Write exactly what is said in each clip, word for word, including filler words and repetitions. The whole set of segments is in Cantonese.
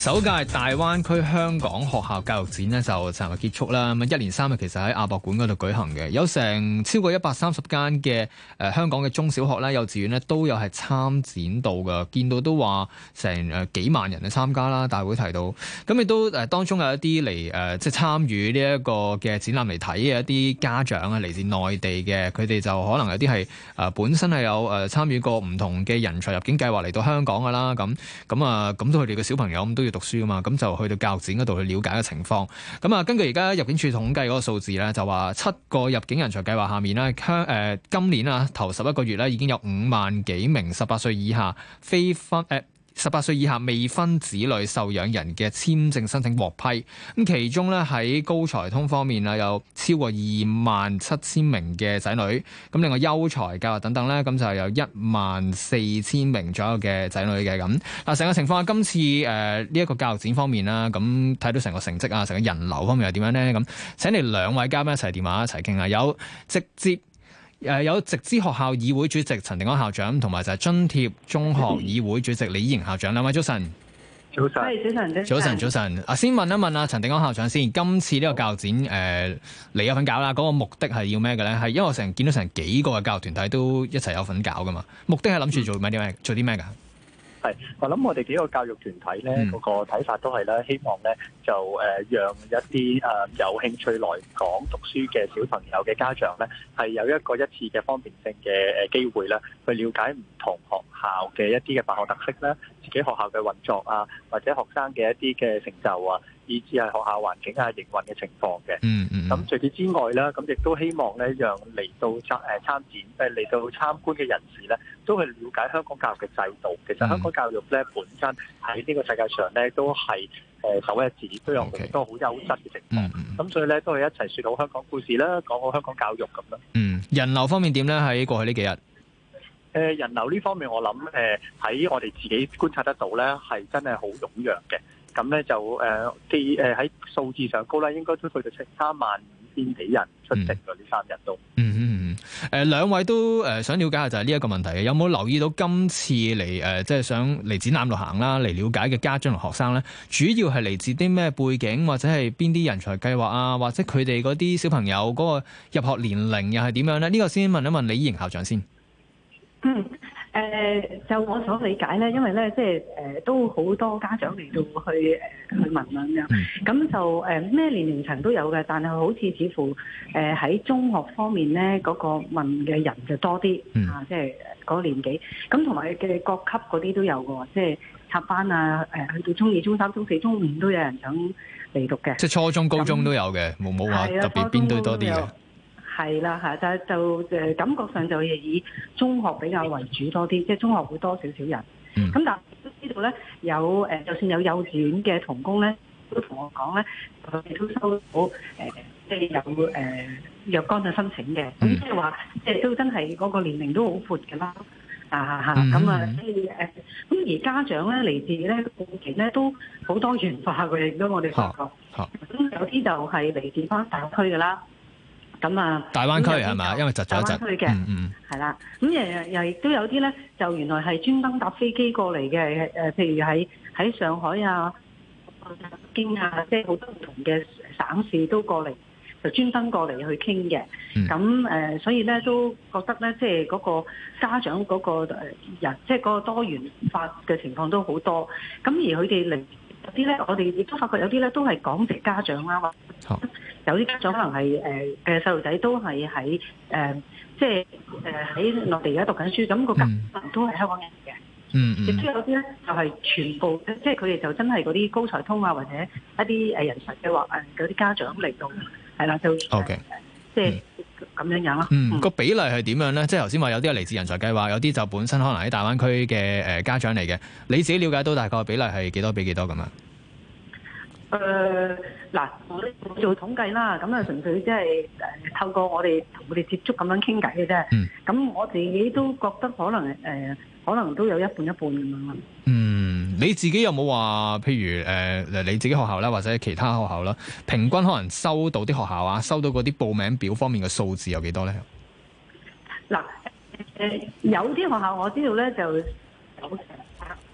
首屆大灣區香港學校教育展呢就尋日結束啦。咁一連三日其實喺亞博館嗰度舉行嘅，有成超過一百三十間嘅誒香港嘅中小學啦、幼稚園呢都有係參展到㗎。見到都話成誒幾萬人去參加啦。大會提到，咁亦都誒當中有一啲嚟誒即係參與呢一個嘅展覽嚟睇嘅一啲家長啊，嚟自內地嘅，佢哋就可能有啲係誒本身係有誒參與過唔同嘅人才入境計劃嚟到香港㗎啦。咁咁啊，咁都佢哋嘅小朋友咁都要讀書噶嘛，咁就去到教育展嗰度去了解嘅情況。咁啊，根據而家入境處統計嗰個數字咧，就話七個入境人才計劃下面咧，香誒今年啊頭十一個月咧已經有五萬幾名十八歲以下非分誒。呃十八歲以下未婚子女受養人嘅簽證申請獲批，咁其中咧喺高才通方面啊，有超過二萬七千名嘅仔女，咁另外優才教育等等咧，咁就有一萬四千名左右嘅仔女嘅咁。嗱，成個情況今次誒呢一個教育展方面啦，咁睇到成個成績啊，成個人流方面係點樣咧？咁請嚟兩位嘉賓一齊電話一齊傾下，有直接。誒有直資學校議會主席陳定安校長，同埋就係津貼中學議會主席李依瑩校長。兩位早晨。 早晨，早晨， 早晨，早晨。啊，先問一問啊，陳定安校長先。今次呢個教育展，誒、呃，你有份搞啦。嗰、那個目的係要咩嘅咧？係因為我成日見到成幾個嘅教育團體都一齊有份搞噶嘛。目的係諗住做咩啲咩？做啲咩㗎？ 係，我諗我哋幾個教育團體咧，嗰、嗯、個睇法都係咧，希望咧就誒、呃、讓一啲誒、呃、有興趣來港讀書嘅小朋友嘅家長咧，係有一個一次嘅方便性嘅誒機會咧，去了解唔同學校嘅一啲嘅辦學特色啦，自己學校嘅運作啊，或者學生嘅一啲嘅成就啊，以至係學校環境啊、營運嘅情況嘅。嗯嗯。咁除此之外咧，咁亦都希望咧，讓嚟到參誒參展誒嚟到參觀嘅人士咧，都去了解香港教育嘅制度。其實香港教育咧本身喺呢個世界上咧都係誒首一指，都有好多好優質嘅情況。咁、嗯、所以咧都係一齊説好香港故事啦，講好香港教育咁啦。嗯， 人流方面點咧？喺過去呢幾日，誒、 呃、人流呢方面我諗誒喺我哋自己觀察得到咧，係真係好踴躍嘅。咁咧就誒既誒喺數字上高啦，應該都去到成三萬五千幾人出席㗎呢三日都。 嗯嗯嗯。誒、呃、兩位都誒、呃、想了解下就係呢一個問題嘅，有冇留意到今次嚟誒即係想嚟展覽度行啦，嚟了解嘅家長同學生咧，主要係嚟自啲咩背景，或者係邊啲人才計劃啊，或者佢哋嗰啲小朋友嗰個入學年齡又係點樣咧？呢、這個先問一問李依瑩校長先。 嗯。誒、呃、就我所理解咧，因為咧即係誒都好多家長嚟到去誒、呃、去問啦咁樣，咁、嗯、就誒咩、呃、年齡層都有嘅，但係好似似乎誒喺、呃、中學方面咧嗰、那個問嘅人就多啲、嗯、啊，即係嗰個年紀，咁同埋嘅各級嗰啲都有嘅，即係插班啊，誒、呃、去到中二、中三、中四、中五都有人想嚟讀嘅， 即係初中、高中都有嘅，冇冇話特別邊堆多啲嘅。 係啦，係就就誒感覺上就係以中學比較為主多啲，即係中學會多少少人。咁、嗯、但係都知道咧，有誒就算有幼稚園嘅同工咧，都同我講咧，佢哋都收到誒，即係有誒若干嘅申請嘅。咁即係話，即係都真係嗰個年齡都好闊㗎啦。啊嚇咁啊，所以誒，咁而家長咧嚟自咧背景咧都好多元化嘅，亦都我哋發覺。咁有啲就係嚟自翻大區㗎啦。咁啊， 大灣區係嘛？因為窒咗一窒。大灣區嘅，嗯嗯，係啦。咁又又亦都有啲咧，就原來係專登搭飛機過嚟嘅。誒，譬如喺喺上海啊、北京啊，即係好多唔同嘅省市都過嚟，就專登過嚟去傾嘅。咁、嗯、誒、呃，所以咧都覺得咧，即係嗰個家長嗰個誒人，即係嗰個多元化嘅情況都好多。咁而佢哋嚟有啲咧，我哋亦都發覺有啲咧都係港籍家長啦。好。有啲家長可能係誒嘅細路仔都係喺誒，即係誒喺內地而家讀緊書，咁、那個家長都係香港人嘅。嗯亦都有啲咧就係全部，即係佢哋就真係嗰啲高才通啊，或者一啲誒人才計劃誒嗰啲家長嚟到，係啦，就 OK，即係咁樣樣咯。 嗯，個、嗯、比例係點樣咧？即係頭先話有啲係嚟自人才計劃，有啲就本身可能喺大灣區嘅誒家長嚟嘅。你自己了解到大概比例係幾多比幾多咁啊？ 誒、呃、嗱，我哋做統計啦，咁啊純粹即係誒透過我哋同佢哋接觸咁樣傾偈嘅啫。嗯。咁我自己都覺得可能誒、呃，可能都有一半一半咁樣。 嗯，你自己有冇話，譬如誒、呃、你自己學校啦，或者其他學校啦，平均可能收到啲學校啊，收到嗰啲報名表方面嘅數字有幾多咧？嗱， 誒、呃、有啲學校我知道咧就有成百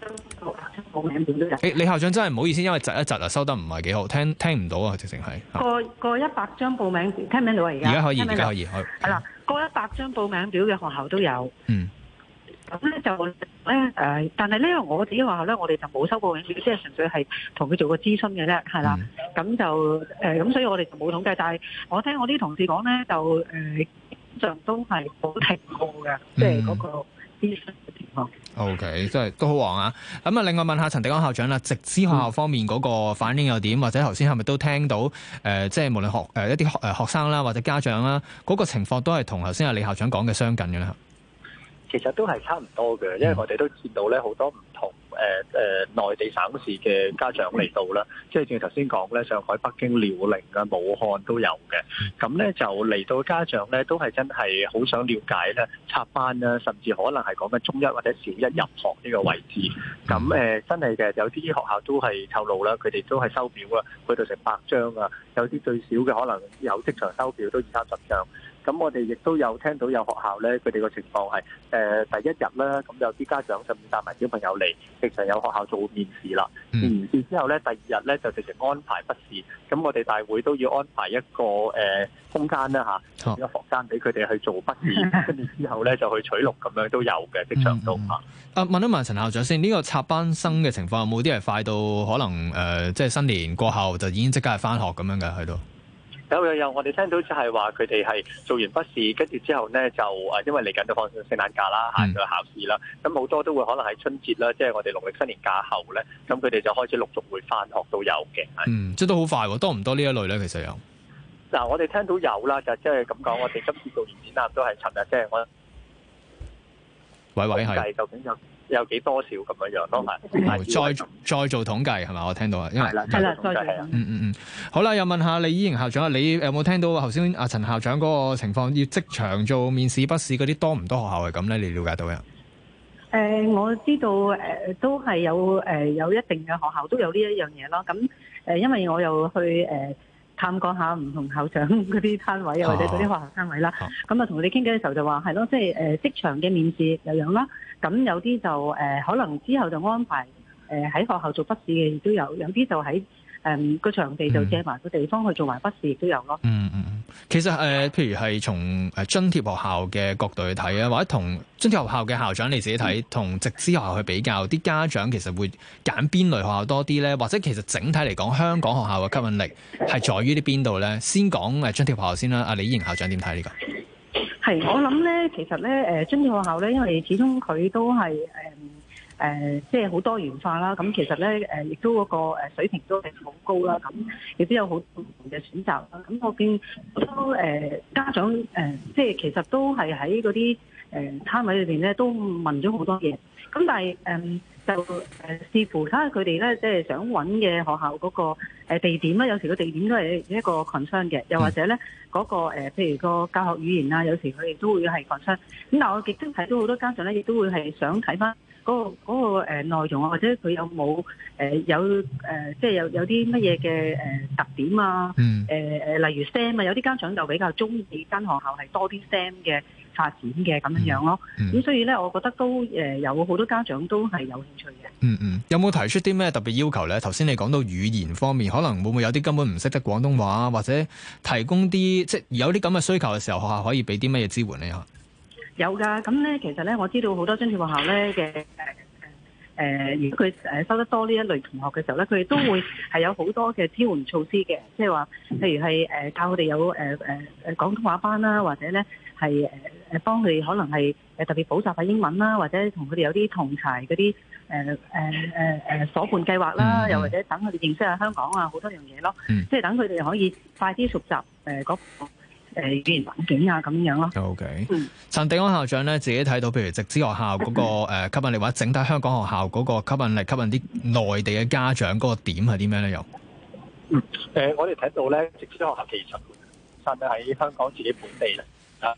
報名表都有。 誒，李校長真係唔好意思，因為窒一窒啊，收得唔係幾好，聽聽唔到啊，直情係。 過過一百張報名表，聽唔聽到啊？而家而家可以， 聽唔聽到而家可以，可以。 係啦，過一百張報名表嘅學校都有。 嗯。 咁咧就咧誒，但係咧我自己學校咧，我哋就冇收報名表，即係純粹係同佢做個諮詢嘅啫，係啦。咁、嗯、就誒，咁、呃、所以我哋就冇統計。但係我聽我啲同事講咧，就誒，常、呃、都係冇停過嘅，即係嗰個諮詢嘅情況。 O K，真係都好旺啊！咁啊，另外問下陳迪安校長啦，直資學校方面嗰個反應又點？或者頭先係咪都聽到誒、呃，即係無論學誒、呃、一啲學誒學生啦，或者家長啦，嗰、那個情況都係同頭先阿李校長講嘅相近嘅咧？ 其實都係差唔多嘅，因為我哋都見到咧好多唔同誒誒、呃、內地省市嘅家長嚟到啦，即係正如頭先講咧，上海、北京、遼寧啊、武漢都有嘅。咁咧就嚟到家長咧都係真係好想了解咧插班啦，甚至可能係講緊中一或者小一入學呢個位置。咁誒、呃、真係嘅，有啲學校都係透露啦，佢哋都係收表啦，去到成百張啊，有啲最少嘅可能有即場收表都二三十張。咁我哋亦都有聽到有學校咧，佢哋個情況係誒、呃、第一日啦，咁有啲家長甚至帶埋小朋友嚟，直情有學校做面試啦。面完試之後咧，第二日咧就直情安排筆試。咁我哋大會都要安排一個誒、呃、空間啦嚇，一個房間俾佢哋去做筆試，跟住之後咧就去取錄咁樣都有嘅，即場都嚇。 啊，問一問陳校長先，呢、這個插班生嘅情況有冇啲係快到可能誒、呃，即係新年過後就已經即刻係返學咁樣嘅喺度？ 有有有，我哋聽到就係話佢哋係做完筆試，跟住之後呢，就誒，因為嚟緊都放聖誕假啦，下個考試啦，咁好多都會可能喺春節啦，即係我哋農曆新年假後呢，咁佢哋就開始陸續會返學都有嘅。 嗯，即係都好快喎，多唔多呢一類呢？其實有。 嗱，我哋聽到有啦，就即係咁講，我哋今次做完展覽都係尋日，即係我喂喂係。 究竟有有幾多少咁樣樣咯？ 係、哦、再再做統計係嘛？我聽到啊，因為係啦， 係啦，再做。 嗯嗯嗯，好啦，又問下李依瑩校長啊，你有冇聽到頭先阿陳校長嗰個情況？要即場做面試筆試嗰啲多唔多學校係咁咧？你了解到呀？ 誒、呃，我知道誒、呃，都係有誒、呃、有一定嘅學校都有呢一樣嘢咯。咁誒、呃，因為我又去誒。呃探講下唔同校長嗰啲攤位啊，或者嗰啲學校攤位啦。咁啊，同佢哋傾偈嘅時候就話係咯，即係誒職場嘅面試有樣啦。咁有啲就誒、呃、可能之後就安排誒喺學校做筆試嘅亦都有，有啲就喺誒個場地就借埋個地方去做埋筆試亦都有咯。 嗯嗯嗯，其實誒、呃，譬如係從誒津貼學校嘅角度去睇啊，或者同津貼學校嘅校長你自己睇，同直資學校去比較，啲家長其實會揀邊類學校多啲咧？或者其實整體嚟講，香港學校嘅吸引力係在於啲邊度咧？先講誒津貼學校先啦，阿李依瑩校長點睇呢個？ 係我諗咧，其實咧誒津貼學校咧，因為始終佢都係誒。誒、呃，即係好多元化啦。咁其實咧，誒、呃，亦都嗰個水平都係好高啦。咁亦都有好多唔同嘅選擇啦。咁我見好多誒家長誒、呃，即係其實都係喺嗰啲誒攤位裏邊咧，都問咗好多嘢。咁但係誒、呃、就誒、呃、視乎睇下佢哋咧，即係想揾嘅學校嗰個地點啦。有時個地點都係一個 concern 嘅，又或者咧嗰、那個、呃、譬如個教學語言啊，有時佢哋都會係 concern。咁但係我亦都睇到好多家長咧，亦都會係想睇翻。嗰、那個嗰、那個誒內容啊，或者佢有冇誒有誒，即係有有啲乜嘢嘅誒特點啊？誒誒、嗯呃，例如 S T E M 啊，有啲家長就比較中意間學校係多啲 S T E M 嘅發展嘅咁樣樣咯。咁、嗯、所以咧，我覺得都誒有好多家長都係有興趣嘅。嗯嗯，有冇提出啲咩特別要求咧？頭先你講到語言方面，可能會唔會有啲根本唔識得廣東話，或者提供啲即係有啲咁嘅需求嘅時候，學校可以俾啲乜嘢支援咧？ 有㗎，咁咧其實咧，我知道好多津貼學校咧嘅誒誒，如果佢誒收得多呢一類同學嘅時候咧，佢哋都會係有好多嘅支援措施嘅，即係話，譬如係誒教佢哋有誒誒誒廣東話班啦，或者咧係誒誒幫佢哋可能係誒特別補習下英文啦，或者同佢哋有啲同儕嗰啲誒誒誒誒夥伴計劃啦，嗯、又或者等佢哋認識下香港啊好多樣嘢咯，嗯、即係等佢哋可以快啲熟習誒嗰誒語言環境啊咁樣咯。 O K，嗯，陳迪安校長咧自己睇到，譬如直資學校嗰個誒吸引力，或者整體香港學校嗰個吸引力，吸引啲內地嘅家長嗰個點係啲咩咧？又嗯誒，我哋睇到咧，直資學校其實本身喺香港自己本地咧啊。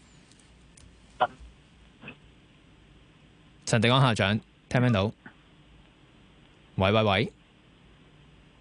陳迪安校長聽唔聽到？喂喂喂！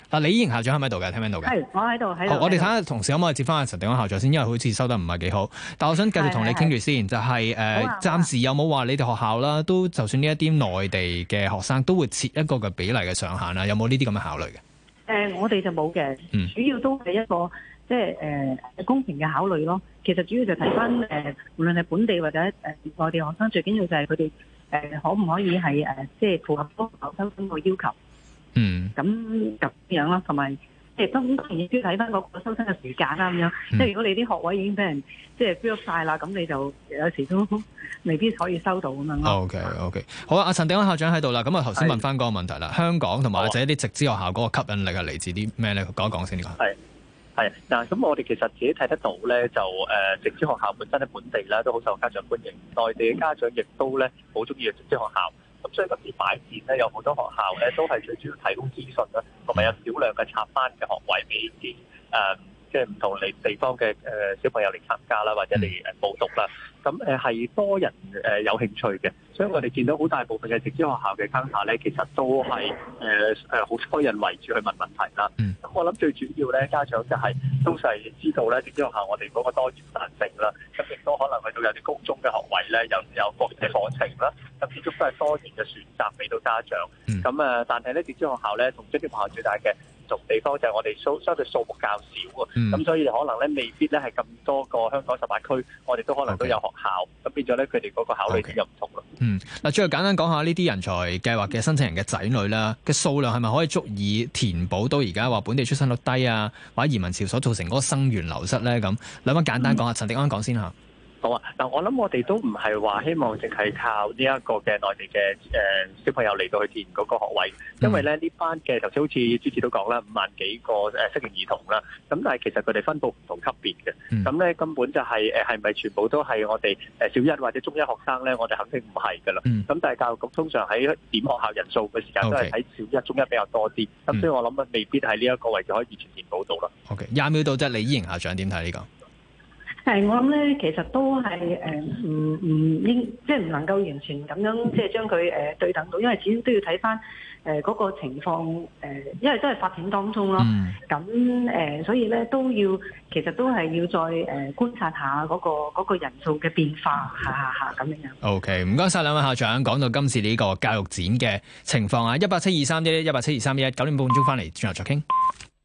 嗱，李依瑩校長喺咪度嘅？聽唔聽到嘅？ 係，我喺度喺度。 我哋睇下同事可唔可以接翻阿陳狄安校長先，因為好似收得唔係幾好。但我想繼續同你傾住先，就係、是、誒，呃啊、暫時有冇話你哋學校啦，都就算呢一啲內地嘅學生都會設一個嘅比例嘅上限啦，有冇呢啲咁嘅考慮嘅？誒、 呃，我哋就冇嘅， 嗯、 主要都係一個即係誒公平嘅考慮咯。其實主要就睇翻誒，無論係本地或者誒內地學生，最緊要就係佢哋誒可唔可以係誒即係符合嗰個收生個要求。 嗯， 咁咁樣啦，同埋即係當當然亦都睇翻嗰個收生嘅時間啦，咁樣。即係、嗯、如果你啲學位已經俾人即係 fill up 晒啦，咁你就有時都未必可以收到咁樣咯。 OK OK，好啊，阿陳狄安校長喺度啦。咁啊，頭先問翻嗰個問題啦，是香港同埋或者一啲直資學校嗰個吸引力係嚟自啲咩咧？講一講先呢個。係係嗱，咁我哋其實自己睇得到咧，就誒、呃、直資學校本身喺本地咧都好受家長歡迎，內地嘅家長亦都咧好中意嘅直資學校。咁所以今次擺展咧，有好多學校咧都係最主要提供資訊啦，同埋有少量嘅插班嘅學位俾啲誒，即係唔同地地方嘅誒小朋友嚟參加啦，或者嚟誒報讀啦。咁誒係多人誒有興趣嘅，所以我哋見到好大部分嘅直資學校嘅坑下咧，其實都係誒誒好多人圍住去問問題啦。咁、嗯、我諗最主要咧，家長就係都係知道咧，直資學校我哋嗰個多元彈性啦，咁亦都可能去到有啲高中嘅學位咧，又有國際課程啦，咁始終都係多元嘅選擇俾到家長。咁誒、嗯，但係咧，直資學校咧同津貼學校最大嘅唔同地方就係我哋數相對數目較少啊，咁、嗯、所以可能咧未必咧係咁多個香港十八區，我哋都可能都有學校，咁 Okay. 變咗咧佢哋嗰個考慮點又唔同咯。 嗯，嗱，最後簡單講下呢啲人才計劃嘅申請人嘅仔女啦，嘅數量係咪可以足以填補到而家話本地出生率低啊，或者移民潮所造成嗰個生源流失咧？咁兩位簡單講下，陳狄安講先嚇。 好啊！嗱，我諗我哋都唔係話希望淨係靠呢一個嘅內地嘅誒小朋友嚟到去填嗰個學位，因為咧呢班嘅頭先好似主持都講啦，五萬幾個誒適齡兒童啦，咁但係其實佢哋分佈唔同級別嘅，咁咧、嗯、根本就係誒係咪全部都係我哋誒小一或者中一學生咧？我哋肯定唔係㗎啦。咁、嗯、但係教育局通常喺點學校人數嘅時間都係喺小一、中一比較多啲，咁、嗯、所以我諗啊未必喺呢一個位置可以完全填補到啦。 OK，廿秒到啫，李依瑩校長點睇呢個？ 係，我諗咧，其實都係誒，唔唔應，即係唔能夠完全咁樣，即係將佢誒對等到，因為始終都要睇翻誒嗰個情況誒、呃，因為都係發展當中咯。咁誒、嗯呃，所以咧都要，其實都係要再誒、呃、觀察下嗰、那個嗰、那個人數嘅變化，下下下咁樣樣。OK， 唔該晒兩位校長，講到今次呢個教育展嘅情況啊，一八七二三一一一八七二三一一，九點半鐘翻嚟轉頭再傾。